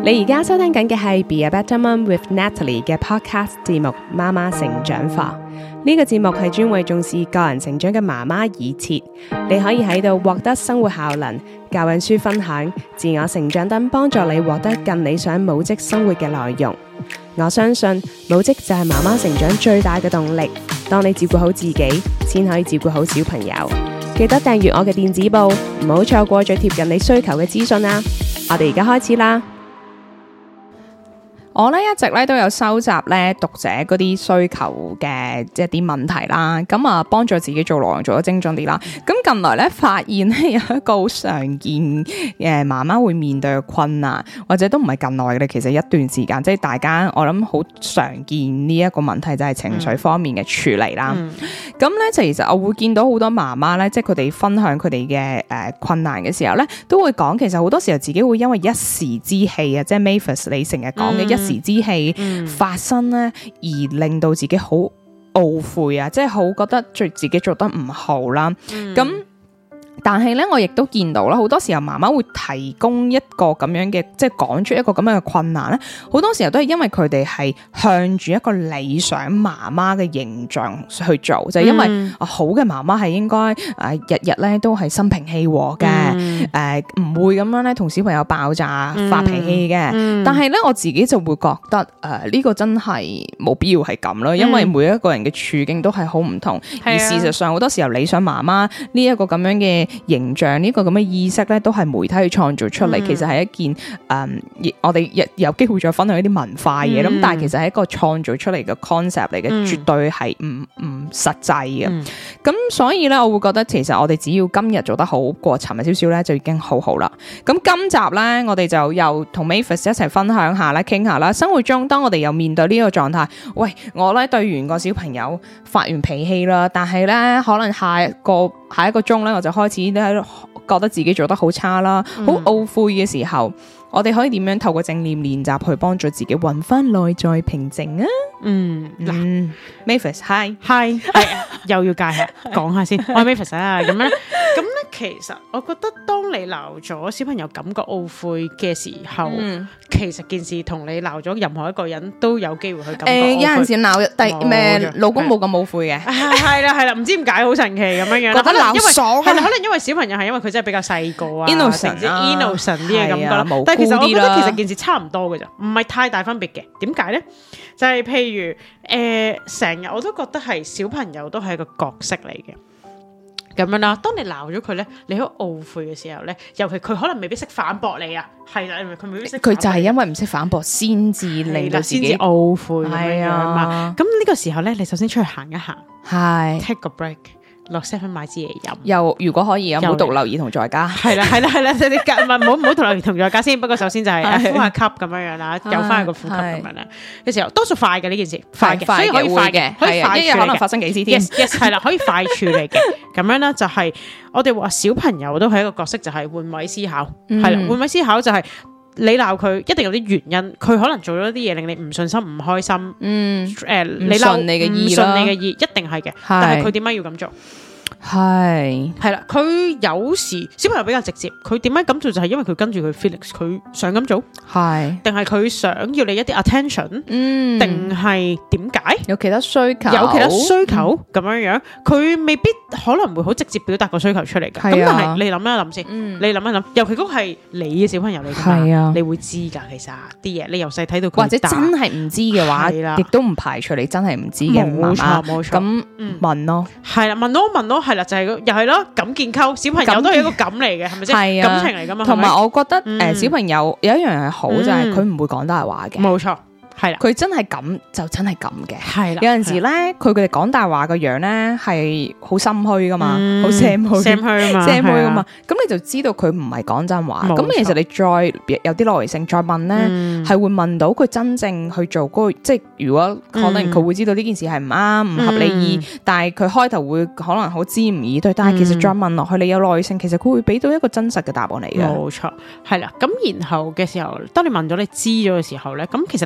你而家收聽緊嘅係 Be a Better Mom with Natalie 嘅 podcast 節目《媽媽成長課》。呢個節目係專為重視個人成長嘅媽媽而設，你可以喺度獲得生活效能、教養書分享、自我成長等，幫助你獲得更理想母職生活嘅內容。我相信母職就係媽媽成長最大嘅動力。當你照顧好自己，先可以照顧好小朋友。記得訂閱我嘅電子報，唔好錯過最貼近你需求嘅資訊啊！我哋而家開始啦。我咧一直咧都有收集咧讀者嗰啲需求嘅即係啲問題啦，咁啊幫助自己做內容做得精準啲啦。咁近來咧發現咧有一個好常見媽媽會面對嘅困難，或者都唔係近來嘅，其實一段時間即係大家我諗好常見呢一個問題就係情緒方面嘅處理啦。咁咧其實我會見到好多媽媽咧，即係佢哋分享佢哋嘅困難嘅時候咧，都會講其實好多時候自己會因為一時之氣啊，即係 Mavis 你成日講嘅一時之氣發生咧，而令到自己好懊悔啊，即係好覺得自己做得唔好啦。咁但係咧，我亦都見到啦，好多時候媽媽會提供一個咁樣嘅，即係講出一個咁樣嘅困難咧。好多時候都係因為佢哋係向住一個理想媽媽嘅形象去做，就係因為好嘅媽媽係應該日日咧都係心平氣和嘅，唔會咁樣咧同小朋友爆炸發脾氣嘅。但係咧我自己就會覺得呢個真係冇必要係咁咯，因為每一個人嘅處境都係好唔同，而事實上好多時候理想媽媽呢一個咁樣嘅形象呢個咁嘅意識咧，都係媒體去創造出嚟，其實係一件我哋有機會再分享一啲文化嘢，咁但係其實係一個創造出嚟嘅 concept 嚟嘅，絕對係唔實際嘅。咁所以咧，我會覺得其實我哋只要今日做得好過尋日少少咧，就已經好好啦。咁今集咧，我哋就又同 Mavis 一齊分享下啦，傾下啦。生活中當我哋又面對呢個狀態，喂，我咧對完個小朋友發完脾氣啦，但係咧可能下一個鐘咧，我就開始咧覺得自己做得好差啦，好懊悔嘅時候，我哋可以點樣透過正念練習去幫助自己搵翻內在平靜啊？Mavis， hi， 又要介下講下先，我係 Mavis 啊，咁咧，其實我覺得當你鬧咗小朋友感覺懊悔嘅時候，其實件事同你鬧咗任何一個人都有機會去感覺懊悔。有陣時鬧老公冇咁懊悔嘅， 係啦，唔知點解好神奇咁樣樣， 覺得鬧爽， 可能因為小朋友係因為佢真係比較細個啊 innocent 啲嘅感覺啦。但係其實我覺得其實件事差唔多嘅咋，唔係太大分別嘅。點解咧？就係譬如成日我都覺得係小朋友都係一個角色嚟嘅。咁樣啦，當你鬧咗佢咧，你好懊悔嘅時候咧，尤其佢可能未必識反駁你啊，係啦，佢未必識。佢就係因為唔識反駁，先至令到自己先至懊悔係啊。 咁呢個時候咧，你首先出去行一行， 係 take a break。落 7買支嘢飲， 又如果可以，唔好獨留兒童在家。 係啦，唔好獨留兒童在家先。不過首先就係呼下吸咁樣樣啦，又翻去個呼吸咁樣啦。嘅時候多數快嘅呢件事，快嘅，所以可以快嘅，可以快一日可能發生幾次添。 Yes， 係啦，可以快處理嘅。咁樣咧就係我哋話小朋友都係一個角色，就係換位思考。係啦，換位思考就係你鬧佢一定有啲原因，佢可能做咗啲嘢令你唔順心、唔開心。你鬧你嘅意，一定係嘅。但係佢點解要咁做？係啦，佢有時小朋友比較直接，佢點解咁做就係因為佢跟住佢 feelings， 佢想咁做，定係佢想要你一啲 attention，定係點解有其他需求， 咁樣樣，佢未必可能會好直接表達個需求出嚟嘅。咁但係你諗一諗先，你諗一諗，尤其嗰個係你嘅小朋友嚟噶嘛，你會知噶，其實啲嘢你由細睇到佢大， 或者真係唔知嘅話，亦都唔排除你真係唔知嘅媽媽，冇錯，咁問咯， 係啦，問咯。係啦，就係又係咯，感建構小朋友都係一個感嚟嘅，係咪先？係啊，感情嚟噶嘛。同埋我覺得小朋友有一樣係好，就係佢唔會講大話嘅。 冇錯。係啦，佢真係咁就真係咁嘅。 係啦， 有陣時咧，佢哋講大話個樣咧係好心虛噶嘛，好 sam 虛噶嘛。咁你就知道佢唔係講真話。咁其實你再有啲耐性再問咧，係會問到佢真正去做嗰個，即係如果可能佢會知道呢件事係唔啱、唔合理意，但係佢開頭會可能好知唔以對，但係其實再問落去，你有耐性，其實佢會俾到一個真實嘅答案嚟嘅。 冇錯，係啦。咁然後嘅時候，當你問咗你知咗嘅時候咧，咁其實你鬧咗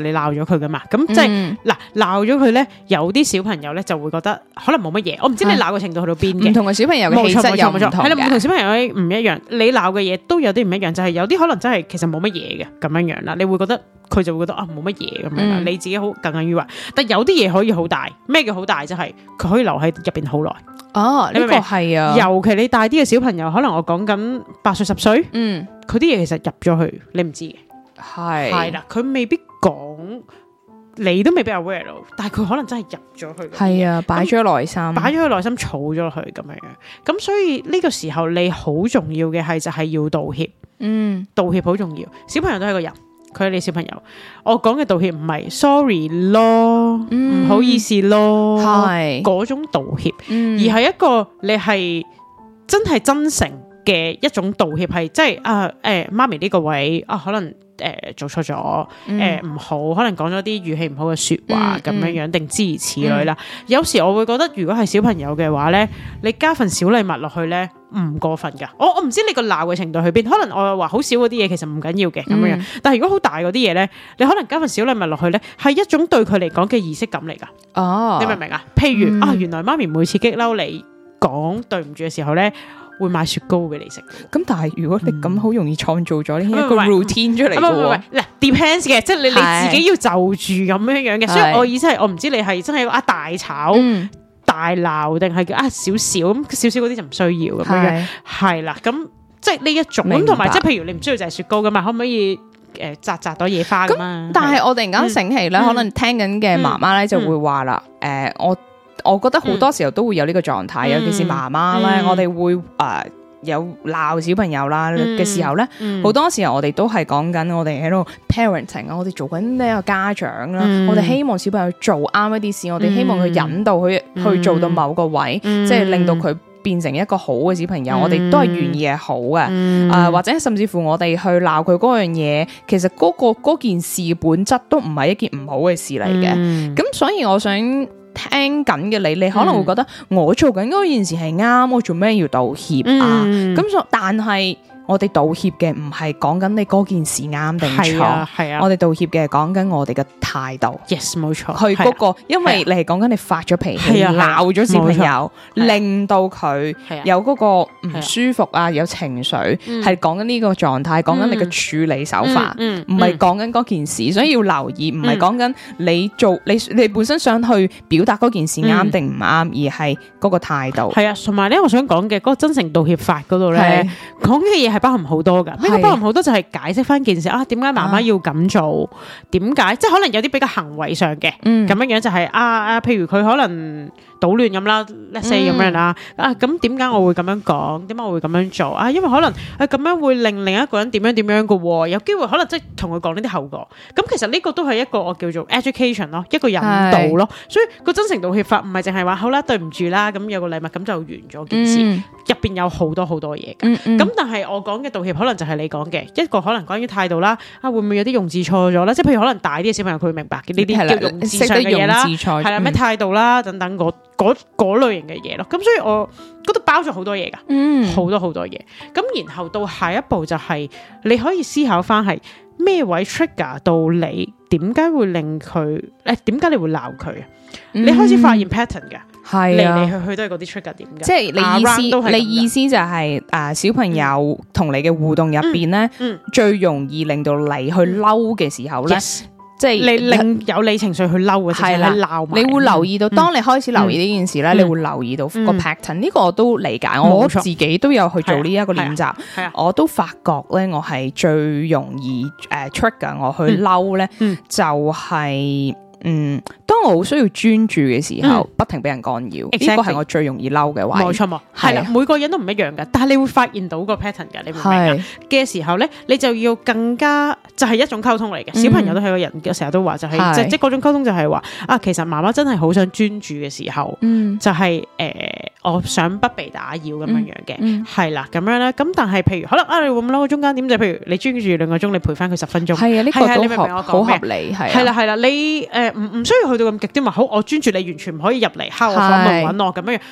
佢噶嘛，咁即係嗱鬧咗佢咧，有啲小朋友咧就會覺得可能冇乜嘢，我唔知你鬧嘅程度去到邊嘅， 唔同嘅小朋友嘅氣質又唔同係啦，唔同小朋友唔一樣，你鬧嘅嘢都有啲唔一樣，就係有啲可能真係其實冇乜嘢嘅咁樣樣啦，你會覺得佢就會覺得啊冇乜嘢咁樣啦，你自己好耿耿於懷，但有啲嘢可以好大，咩叫好大？就係佢可以留喺入邊好耐。 哦，呢個係啊， 尤其你大啲嘅小朋友，可能我講緊8歲10歲，佢啲嘢其實入咗去，你唔知嘅，係啦，佢未必講，你都未必 aware 到，但係佢可能真係入咗去， 係啊，擺咗內心， 擺咗佢內心，儲咗佢咁樣樣，咁所以呢個時候你好重要嘅係就係要道歉，道歉好重要，小朋友都係個人。佢係你小朋友，我講嘅道歉唔係 sorry 咯，唔好意思咯，係嗰種道歉，而係一個你係真係真誠嘅一種道歉，係即係媽咪呢個位可能做錯咗，唔好，可能講咗啲語氣唔好嘅說話咁樣樣，定諸如此類啦。有時我會覺得，如果係小朋友嘅話咧，你加份小禮物落去咧，唔過分噶。我唔知你個鬧嘅程度去邊，可能我話好少嗰啲嘢其實唔緊要嘅咁樣樣，但係如果好大嗰啲嘢咧，你可能加份小禮物落去咧，係一種對佢嚟講嘅儀式感嚟噶。哦，你明唔明啊？譬如原來媽咪每次激嬲你講對唔住嘅時候咧，會買雪糕俾你食。咁但係如果你咁好容易創造咗呢一個 routine 出嚟嘅喎，嗱 depends 嘅，即係你自己要就住咁樣樣嘅。所以我意思係，我唔知你係真係大吵大鬧，定係叫少少咁少少嗰啲就唔需要咁樣樣。係啦，咁即係呢一種咁，同埋即係譬如你唔需要就係雪糕噶嘛，可唔可以摘朵野花咁啊？但係我突然間醒起咧，可能聽緊嘅媽媽咧就會話啦，我覺得好多時候都會有呢個狀態，尤其是媽媽咧，我哋會有鬧小朋友啦嘅時候咧，好多時候我哋都係講緊我哋喺度 parenting 啊，我哋做緊呢個家長啦，我哋希望小朋友做啱一啲事，我哋希望佢引導佢去做到某個位，即係令到佢變成一個好嘅小朋友，我哋都係願意係好嘅，或者甚至乎我哋去鬧佢嗰樣嘢，其實嗰件事本質都唔係一件唔好嘅事嚟嘅，咁所以我想聽緊嘅你可能會覺得我做緊嗰件事係啱，我做咩要道歉啊？咁但係我哋道歉嘅唔係講緊你嗰件事啱定錯，係啊，我哋道歉嘅係講緊我哋嘅態度。Yes， 冇錯。佢嗰個，因為你係講緊你發咗脾氣，鬧咗小朋友，令到佢有嗰個唔舒服啊，有情緒，係講緊呢個狀態，講緊你嘅處理手法，唔係講緊嗰件事，所以要留意，唔係講緊你做你本身想去表達嗰件事啱定唔啱，而係嗰個態度。係啊，同埋咧，我想講嘅嗰個真誠道歉法嗰度咧，講嘅嘢係包含好多噶，呢個包含好多就係解釋翻件事啊，點解媽媽要咁做？點解？即係可能有啲比較行為上嘅，咁樣樣就係譬如佢可能搗亂咁啦，let's say 咁樣啦，咁點解我會咁樣講？點解我會咁樣做啊？因為可能咁樣會令另一個人點樣點樣嘅，有機會可能即係同佢講呢啲後果。咁其實呢個都係一個我叫做 education 咯，一個引導咯。所以個真誠道歉法唔係淨係話好啦，對唔住啦，咁有個禮物咁就完咗件事，入邊有好多好多嘢嘅。咁但係我講嘅道歉可能就係你講嘅一個可能關於態度啦，會唔會有啲用字錯咗啦？即係譬如可能大啲嘅小朋友佢會明白嘅呢啲叫用字上嘅嘢啦，係啦，咩態度啦等等嗰類型嘅嘢咯。咁所以我嗰度包咗好多嘢噶，好多好多嘢。咁然後到下一步就係你可以思考翻係咩位 trigger 到你，點解會令佢點解你會鬧佢啊？你開始發現 pattern 嘅。係嚟嚟去去都係嗰啲 trigger 點嘅，即係你意思就係小朋友同你嘅互動入邊咧，最容易令到你去嬲嘅時候咧，即係你令有你情緒去嬲嘅時候，係啦，鬧你會留意到，當你開始留意呢件事咧，你會留意到個 pattern。呢個我都理解，我自己都有去做呢一個練習，我都發覺咧，我係最容易trigger 我去嬲咧，就係。當我好需要專注嘅時候，不停俾人干擾，呢個係我最容易嬲嘅位。冇錯，係啦，每個人都唔一樣噶，但係你會發現到個 pattern 噶，你明唔明啊？嘅時候咧，你就要更加就係一種溝通嚟嘅。小朋友都係個人嘅，成日都話就係即係嗰種溝通就係話其實媽媽真係好想專注嘅時候，就係我想不被打擾咁樣樣嘅，係啦咁樣咧。咁但係譬如可能你會咁嬲，中間點就譬如你專注2個鐘，你陪翻佢10分鐘，係啊，呢個都好合理，係啦係啦，你唔需要去到咁極端話好，我專注你完全唔可以入嚟敲我房門揾我咁樣。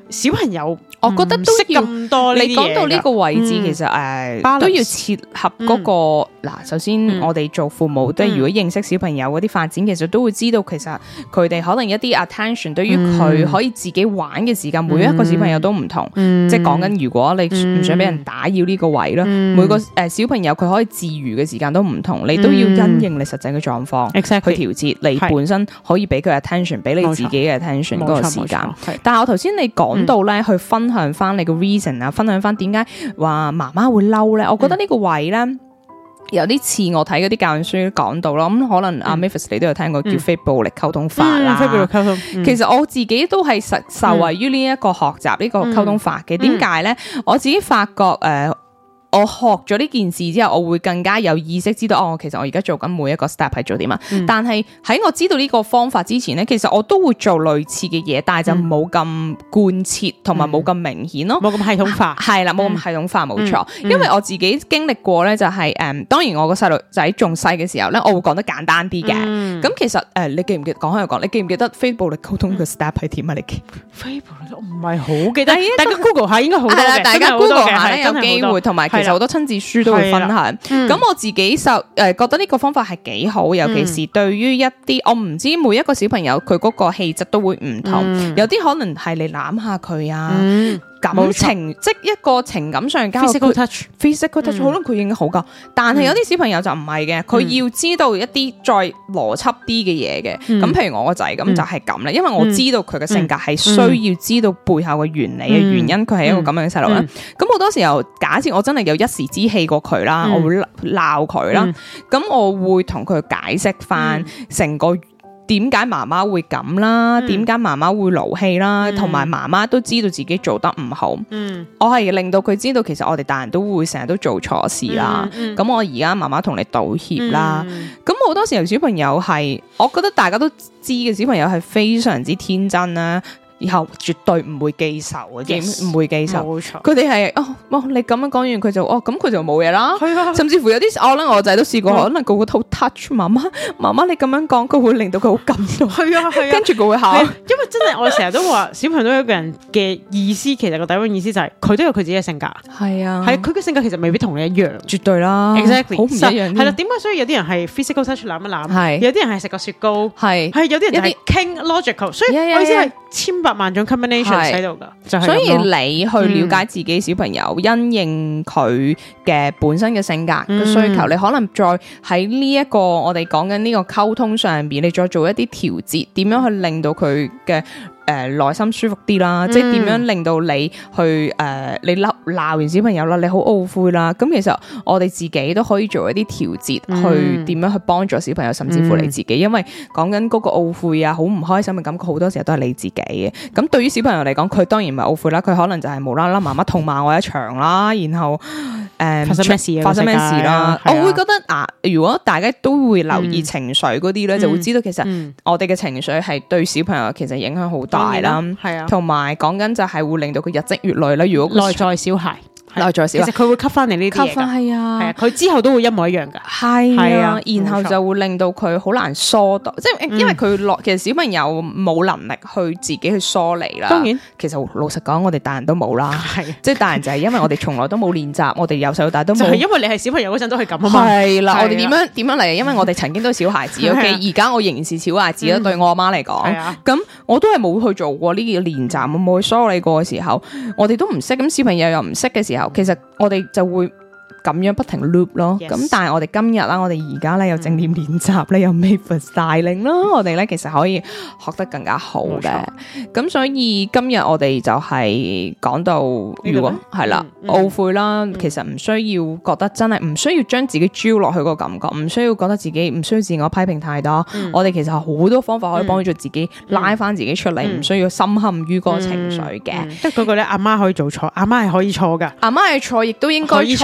小朋友我覺得都識要咁多呢啲嘢㗎。 你講到呢個位置，其實 balance 都要切合嗰個嗱。首先我哋做父母，都係如果認識小朋友嗰啲發展，其實都會知道其實佢哋可能一啲 attention 對於佢可以自己玩嘅時間，每一個小朋友都唔同。即係講緊如果你唔想俾人打擾呢個位啦，每個小朋友佢可以自娛嘅時間都唔同，你都要因應你實際嘅狀況去調節你本身可以俾佢 attention， 俾你自己嘅 attention 嗰個時間。但係我頭先你講到咧，去分享翻你個 reason 啊，分享翻點解話媽媽會嬲咧？我覺得呢個位咧有啲似我睇嗰啲教養書講到啦。咁可能阿 Mavis 你都有聽過叫非暴力溝通法啦。非暴力溝通，其實我自己都係受惠於呢一個學習呢個溝通法嘅。點解咧？我自己發覺我學咗呢件事之後，我會更加有意識知道其實我而家做緊每一個 step 係做啲乜。但係喺我知道呢個方法之前咧，其實我都會做類似嘅嘢，但係就冇咁貫徹同埋冇咁明顯咯，冇咁系統化。係啦，冇咁系統化，冇錯。因為我自己經歷過咧，就係當然我個細路仔仲細嘅時候咧，我會講得簡單啲嘅。咁其實你記唔記得講開又講？你記唔記得非暴力溝通嘅 step 係點啊？你記非暴力我唔係好記得，大家 Google 下應該好多嘅，大家 Google 下咧有機會，同埋其實好多親子書都會分享。咁我自己就覺得呢個方法係幾好，尤其是對於一啲我唔知每一個小朋友佢嗰個氣質都會唔同，有啲可能係你攬下佢啊。感情即一個情感上交 physical touch 可能佢已經好噶，但係有啲小朋友就唔係嘅，佢要知道一啲再邏輯啲嘅嘢嘅。咁譬如我個仔咁就係咁啦，因為我知道佢嘅性格係需要知道背後嘅原理嘅原因，佢係一個咁樣嘅細路啦。咁好多時候假設我真係有一時之氣過佢啦，我會鬧佢啦，咁我會同佢解釋翻成個點解媽媽會咁啦？點解媽媽會勞氣啦？同埋媽媽都知道自己做得唔好。我係令到佢知道，其實我哋大人都會成日都做錯事啦。咁我而家媽媽同你道歉啦。咁好多時候小朋友係，我覺得大家都知嘅小朋友係非常之天真啦。以後絕對唔會記仇嘅，唔會記仇。冇錯，佢哋係你咁樣講完佢就咁佢就冇嘢啦。甚至乎有啲我咧，我仔都試過，可能個好 touch 媽媽你咁樣講，佢會令到佢好感動。係啊，跟住佢會喊。因為真係我成日都話，小朋友都有一個人嘅意思，其實個底蘊意思就係佢都有佢自己嘅性格。係啊，係佢嘅性格其實未必同你一樣，絕對啦 ，exactly 好唔一樣。係啦，點解所以有啲人係 physical touch 攬一攬，有啲人係食個雪糕，係有啲人係傾 logical，所以我意思係千百萬種 combination 喺度噶，所以你去了解自己小朋友，因應佢嘅本身嘅性格嘅需求，你可能再喺呢一個我哋講緊呢個溝通上邊，你再做一啲調節，點樣去令到佢嘅內心舒服啲啦，即係點樣令到你去你鬧完小朋友啦，你好懊悔啦，咁其實我哋自己都可以做一啲調節，去點樣去幫助小朋友，甚至乎你自己，因為講緊嗰個懊悔啊，好唔開心嘅感覺，好多時候都係你自己嘅。咁對於小朋友嚟講，佢當然唔係懊悔啦，佢可能就係無啦啦媽媽痛罵我一場啦，然後發生咩事啦？我會覺得如果大家都會留意情緒嗰啲咧，就會知道其實我哋嘅情緒係對小朋友其實影響好大啦，係啊，同埋講緊就係會令到佢日積月累啦。如果內在小孩，其實佢會吸翻你呢啲嘢噶，係啊，佢之後都會一模一樣噶，係啊，然後就會令到佢好難疏導，即係因為佢其實小朋友冇能力去自己去疏離啦。當然，其實老實講，我哋大人都冇啦，即係大人就係因為我哋從來都冇練習，我哋由細到大都冇，就係因為你係小朋友嗰陣都係咁啊嘛。係啦，我哋點樣嚟？因為我哋曾經都係小孩子，OK，而家我仍然是小孩子啦。對我阿媽嚟講，咁我都係冇去做過呢個練習，我冇去梳理過嘅時候，我哋都唔識，咁小朋友又唔識嘅時候。其實我哋就會咁樣不停 loop 咯，咁但係我哋今日啦，我哋而家咧有正念練習咧，有 Mavis 帶領啦，我哋咧其實可以學得更加好嘅。咁所以今日我哋就係講到，如果係啦懊悔啦，其實唔需要覺得真係唔需要將自己焦落去個感覺，唔需要覺得自己唔需要自我批評太多。我哋其實好多方法可以幫助自己拉翻自己出嚟，唔需要深陷於嗰個情緒嘅。即係嗰個咧，阿媽可以做錯，阿媽係可以錯噶，阿媽係錯亦都應該錯噶。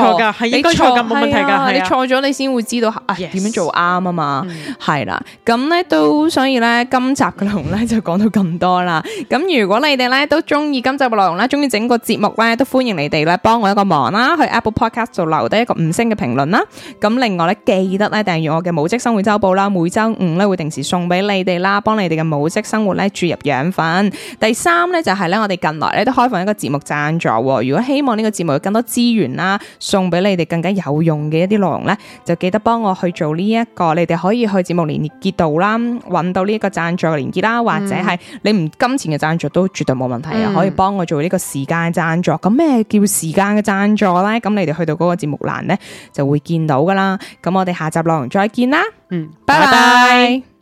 係應該錯咁冇問題㗎， 你錯咗你先會知道點樣做啱啊嘛，係啦，咁咧都所以咧今集嘅內容咧就講到咁多啦。咁如果你哋咧都中意今集嘅內容咧，中意整個節目咧，都歡迎你哋咧幫我一個忙啦，去 Apple Podcast 度留低一個5星嘅評論啦。咁另外咧記得咧訂閱我嘅母職生活週報啦，每周5咧會定時送俾你哋啦，幫你哋嘅母職生活咧注入養分。第3咧就係咧我哋近來咧都開放一個節目贊助，如果希望呢個節目有更多資源啦，送俾你哋更加有用嘅一啲內容咧，就記得幫我去做呢一個，你哋可以去節目連結度啦，揾到呢一個贊助嘅連結啦，或者係你唔金錢嘅贊助都絕對冇問題啊，可以幫我做呢個時間贊助。咁咩叫時間嘅贊助咧？咁你哋去到嗰個節目欄咧就會見到噶啦。咁我哋下集內容再見啦，拜拜。